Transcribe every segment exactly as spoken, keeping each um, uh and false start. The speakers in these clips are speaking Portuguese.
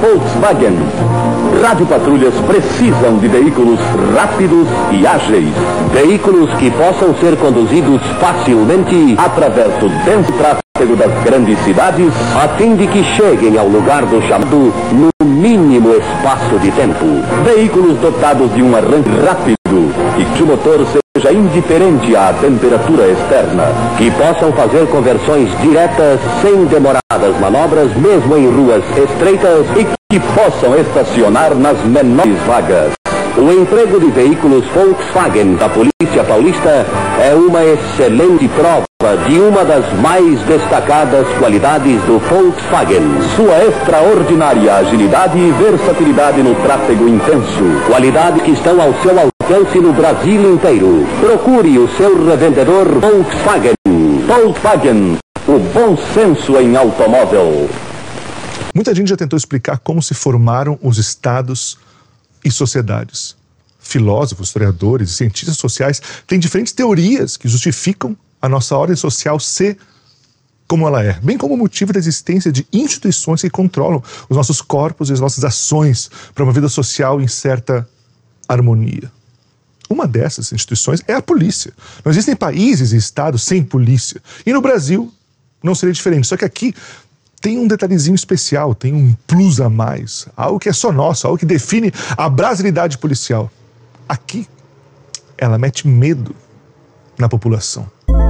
Volkswagen. Radiopatrulhas precisam de veículos rápidos e ágeis. Veículos que possam ser conduzidos facilmente através do denso tráfego das grandes cidades, a fim de que cheguem ao lugar do chamado no mínimo espaço de tempo. Veículos dotados de um arranque rápido e que o motor seja indiferente à temperatura externa, que possam fazer conversões diretas sem demoradas manobras, mesmo em ruas estreitas, e que possam estacionar nas menores vagas. O emprego de veículos Volkswagen da Polícia Paulista é uma excelente prova de uma das mais destacadas qualidades do Volkswagen. Sua extraordinária agilidade e versatilidade no tráfego intenso. Qualidade que estão ao seu alcance no Brasil inteiro. Procure o seu revendedor Volkswagen. Volkswagen, o bom senso em automóvel. Muita gente já tentou explicar como se formaram os estados e sociedades. Filósofos, historiadores e cientistas sociais têm diferentes teorias que justificam a nossa ordem social ser como ela é, bem como o motivo da existência de instituições que controlam os nossos corpos e as nossas ações para uma vida social em certa harmonia. Uma dessas instituições é a polícia. Não existem países e estados sem polícia. E no Brasil não seria diferente, só que aqui tem um detalhezinho especial, tem um plus a mais, algo que é só nosso, algo que define a brasilidade policial. Aqui, ela mete medo na população.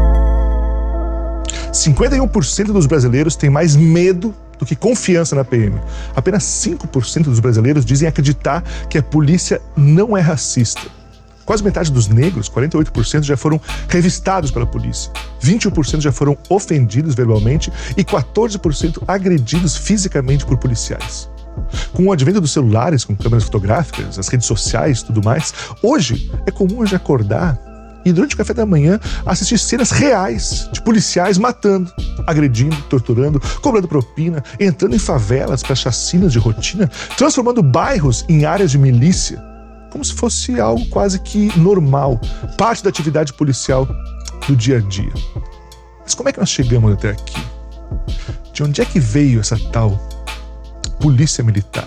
cinquenta e um por cento dos brasileiros têm mais medo do que confiança na P M. Apenas cinco por cento dos brasileiros dizem acreditar que a polícia não é racista. Quase metade dos negros, quarenta e oito por cento, já foram revistados pela polícia. vinte e um por cento já foram ofendidos verbalmente e quatorze por cento agredidos fisicamente por policiais. Com o advento dos celulares, com câmeras fotográficas, as redes sociais e tudo mais, hoje é comum a gente acordar e durante o café da manhã assistir cenas reais de policiais matando, agredindo, torturando, cobrando propina, entrando em favelas para chacinas de rotina, transformando bairros em áreas de milícia, como se fosse algo quase que normal, parte da atividade policial do dia a dia. Mas como é que nós chegamos até aqui? De onde é que veio essa tal polícia militar?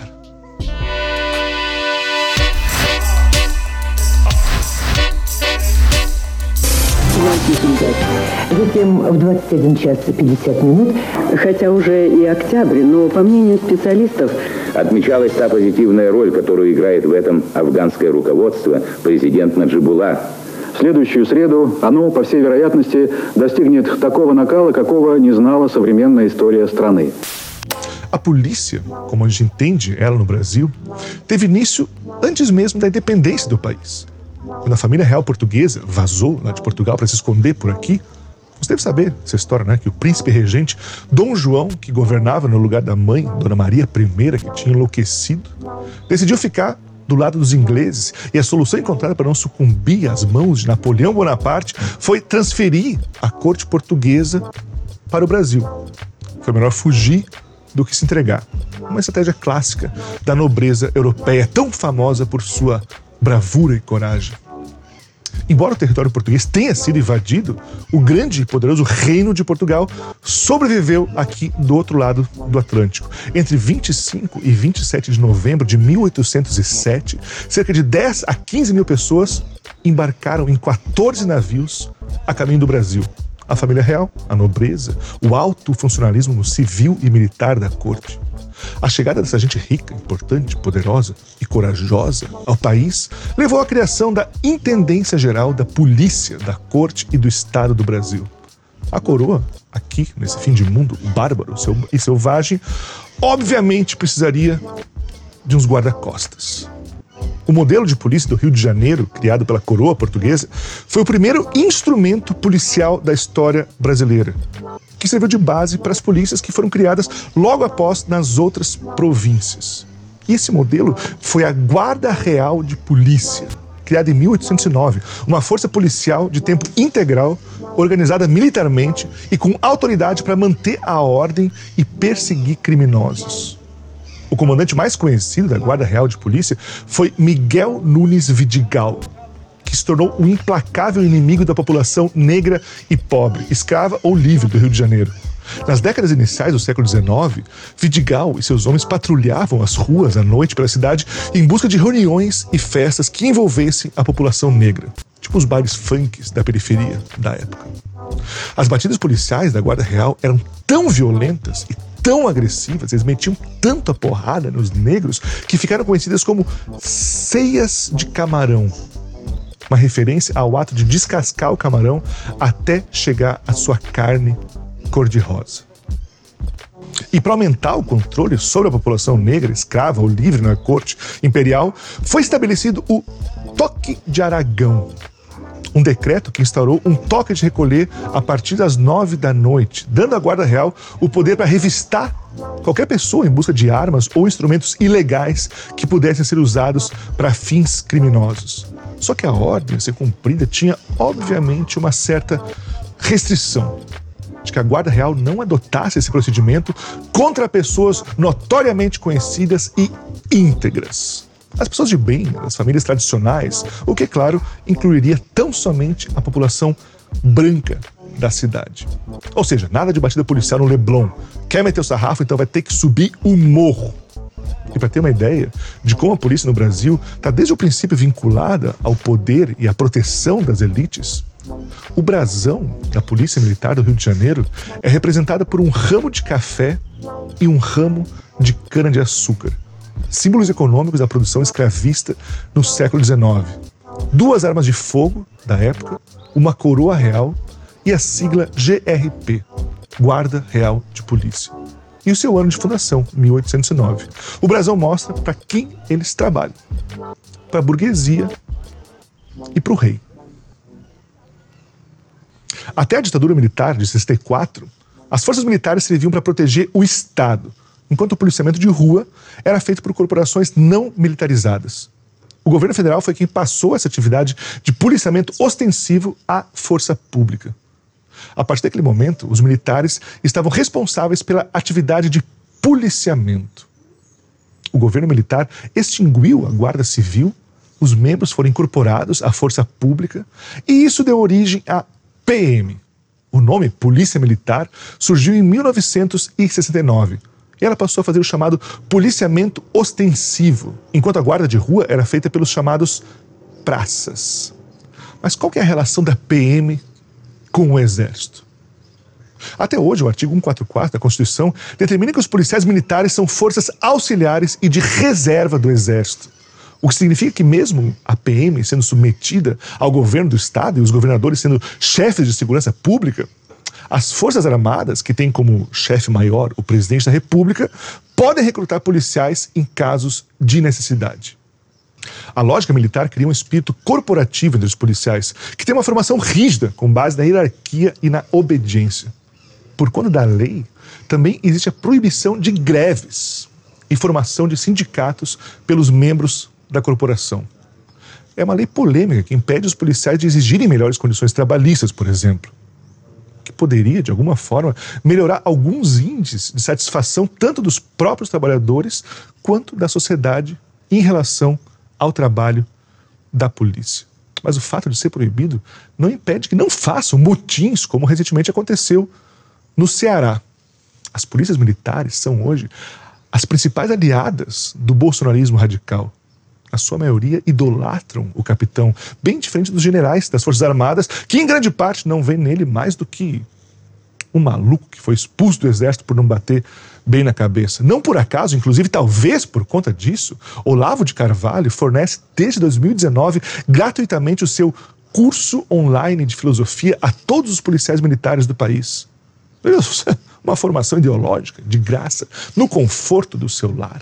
Затем в двадцать один час пятьдесят минут, хотя уже и октябрь, но по мнению специалистов, отмечалась та позитивная роль, которую играет в этом афганское руководство, президент Наджибуллах. В следующую среду оно, по всей вероятности, достигнет такого накала, какого не знала современная история страны. A polícia, como a gente entende ela no Brasil, teve início antes mesmo da independência do país. Quando a família real portuguesa vazou lá de Portugal para se esconder por aqui, você deve saber essa história, né? Que o príncipe regente Dom João, que governava no lugar da mãe, Dona Maria I, que tinha enlouquecido, decidiu ficar do lado dos ingleses, e a solução encontrada para não sucumbir às mãos de Napoleão Bonaparte foi transferir a corte portuguesa para o Brasil. Foi melhor fugir do que se entregar. Uma estratégia clássica da nobreza europeia, tão famosa por sua bravura e coragem. Embora o território português tenha sido invadido, o grande e poderoso Reino de Portugal sobreviveu aqui do outro lado do Atlântico. Entre vinte e cinco e vinte e sete de novembro de mil oitocentos e sete, cerca de dez a quinze mil pessoas embarcaram em quatorze navios a caminho do Brasil. A família real, a nobreza, o alto funcionalismo civil e militar da corte. A chegada dessa gente rica, importante, poderosa e corajosa ao país levou à criação da Intendência Geral da Polícia, da Corte e do Estado do Brasil. A coroa, aqui, nesse fim de mundo bárbaro e selvagem, obviamente precisaria de uns guarda-costas. O modelo de polícia do Rio de Janeiro, criado pela coroa portuguesa, foi o primeiro instrumento policial da história brasileira, que serviu de base para as polícias que foram criadas logo após nas outras províncias. E esse modelo foi a Guarda Real de Polícia, criada em mil oitocentos e nove, uma força policial de tempo integral, organizada militarmente e com autoridade para manter a ordem e perseguir criminosos. O comandante mais conhecido da Guarda Real de Polícia foi Miguel Nunes Vidigal, que se tornou um implacável inimigo da população negra e pobre, escrava ou livre do Rio de Janeiro. Nas décadas iniciais do século dezenove, Vidigal e seus homens patrulhavam as ruas à noite pela cidade em busca de reuniões e festas que envolvessem a população negra, tipo os bailes funks da periferia da época. As batidas policiais da Guarda Real eram tão violentas e tão agressivas, eles metiam tanto a porrada nos negros que ficaram conhecidas como ceias de camarão, uma referência ao ato de descascar o camarão até chegar à sua carne cor-de-rosa. E para aumentar o controle sobre a população negra, escrava ou livre na corte imperial, foi estabelecido o Toque de Aragão, um decreto que instaurou um toque de recolher a partir das nove da noite, dando à Guarda Real o poder para revistar qualquer pessoa em busca de armas ou instrumentos ilegais que pudessem ser usados para fins criminosos. Só que a ordem a ser cumprida tinha, obviamente, uma certa restrição de que a Guarda Real não adotasse esse procedimento contra pessoas notoriamente conhecidas e íntegras. As pessoas de bem, as famílias tradicionais, o que, claro, incluiria tão somente a população branca da cidade. Ou seja, nada de batida policial no Leblon. Quer meter o sarrafo, então vai ter que subir o morro. E para ter uma ideia de como a polícia no Brasil está desde o princípio vinculada ao poder e à proteção das elites, o brasão da Polícia Militar do Rio de Janeiro é representada por um ramo de café e um ramo de cana-de-açúcar, símbolos econômicos da produção escravista no século dezenove. Duas armas de fogo da época, uma coroa real e a sigla G R P, Guarda Real de Polícia. E o seu ano de fundação, mil oitocentos e nove. O brasão mostra para quem eles trabalham: para a burguesia e para o rei. Até a ditadura militar de sessenta e quatro, as forças militares serviam para proteger o Estado, enquanto o policiamento de rua era feito por corporações não militarizadas. O governo federal foi quem passou essa atividade de policiamento ostensivo à força pública. A partir daquele momento, os militares estavam responsáveis pela atividade de policiamento. O governo militar extinguiu a Guarda Civil, os membros foram incorporados à força pública e isso deu origem à P M. O nome Polícia Militar surgiu em mil novecentos e sessenta e nove e ela passou a fazer o chamado policiamento ostensivo, enquanto a guarda de rua era feita pelos chamados praças. Mas qual que é a relação da P M com o Exército? Até hoje, o artigo cento e quarenta e quatro da Constituição determina que os policiais militares são forças auxiliares e de reserva do Exército. O que significa que mesmo a P M sendo submetida ao governo do Estado e os governadores sendo chefes de segurança pública, as Forças Armadas, que têm como chefe maior o presidente da República, podem recrutar policiais em casos de necessidade. A lógica militar cria um espírito corporativo entre os policiais, que tem uma formação rígida, com base na hierarquia e na obediência. Por conta da lei, também existe a proibição de greves e formação de sindicatos pelos membros da corporação. É uma lei polêmica que impede os policiais de exigirem melhores condições trabalhistas, por exemplo, que poderia, de alguma forma, melhorar alguns índices de satisfação tanto dos próprios trabalhadores quanto da sociedade em relação ao trabalho da polícia. Mas o fato de ser proibido não impede que não façam motins, como recentemente aconteceu no Ceará. As polícias militares são hoje as principais aliadas do bolsonarismo radical. A sua maioria idolatram o capitão, bem diferente dos generais das Forças Armadas, que em grande parte não vê nele mais do que um maluco que foi expulso do Exército por não bater bem na cabeça. Não por acaso, inclusive talvez por conta disso, Olavo de Carvalho fornece desde dois mil e dezenove gratuitamente o seu curso online de filosofia a todos os policiais militares do país. Uma formação ideológica, de graça, no conforto do seu lar.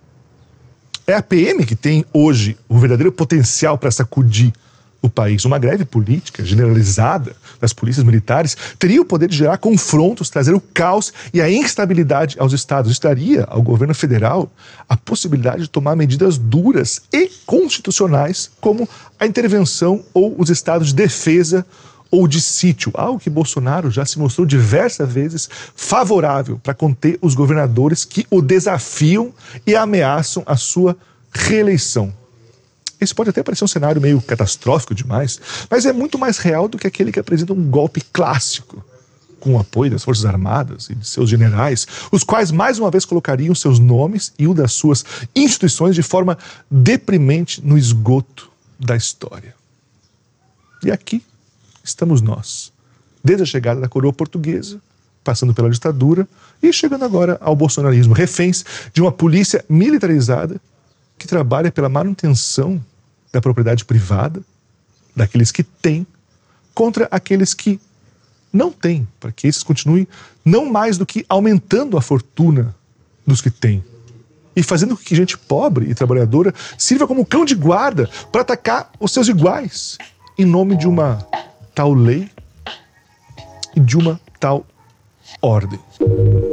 É a P M que tem hoje o verdadeiro potencial para sacudir o país. Uma greve política generalizada das polícias militares teria o poder de gerar confrontos, trazer o caos e a instabilidade aos estados. Isso daria ao governo federal a possibilidade de tomar medidas duras e constitucionais, como a intervenção ou os estados de defesa ou de sítio, algo que Bolsonaro já se mostrou diversas vezes favorável para conter os governadores que o desafiam e ameaçam a sua reeleição. Esse pode até parecer um cenário meio catastrófico demais, mas é muito mais real do que aquele que apresenta um golpe clássico com o apoio das Forças Armadas e de seus generais, os quais mais uma vez colocariam seus nomes e o das suas instituições de forma deprimente no esgoto da história. E aqui estamos nós, desde a chegada da coroa portuguesa, passando pela ditadura e chegando agora ao bolsonarismo, reféns de uma polícia militarizada que trabalha pela manutenção da propriedade privada, daqueles que têm, contra aqueles que não têm, para que esses continuem não mais do que aumentando a fortuna dos que têm e fazendo com que gente pobre e trabalhadora sirva como cão de guarda para atacar os seus iguais, em nome de uma tal lei e de uma tal ordem.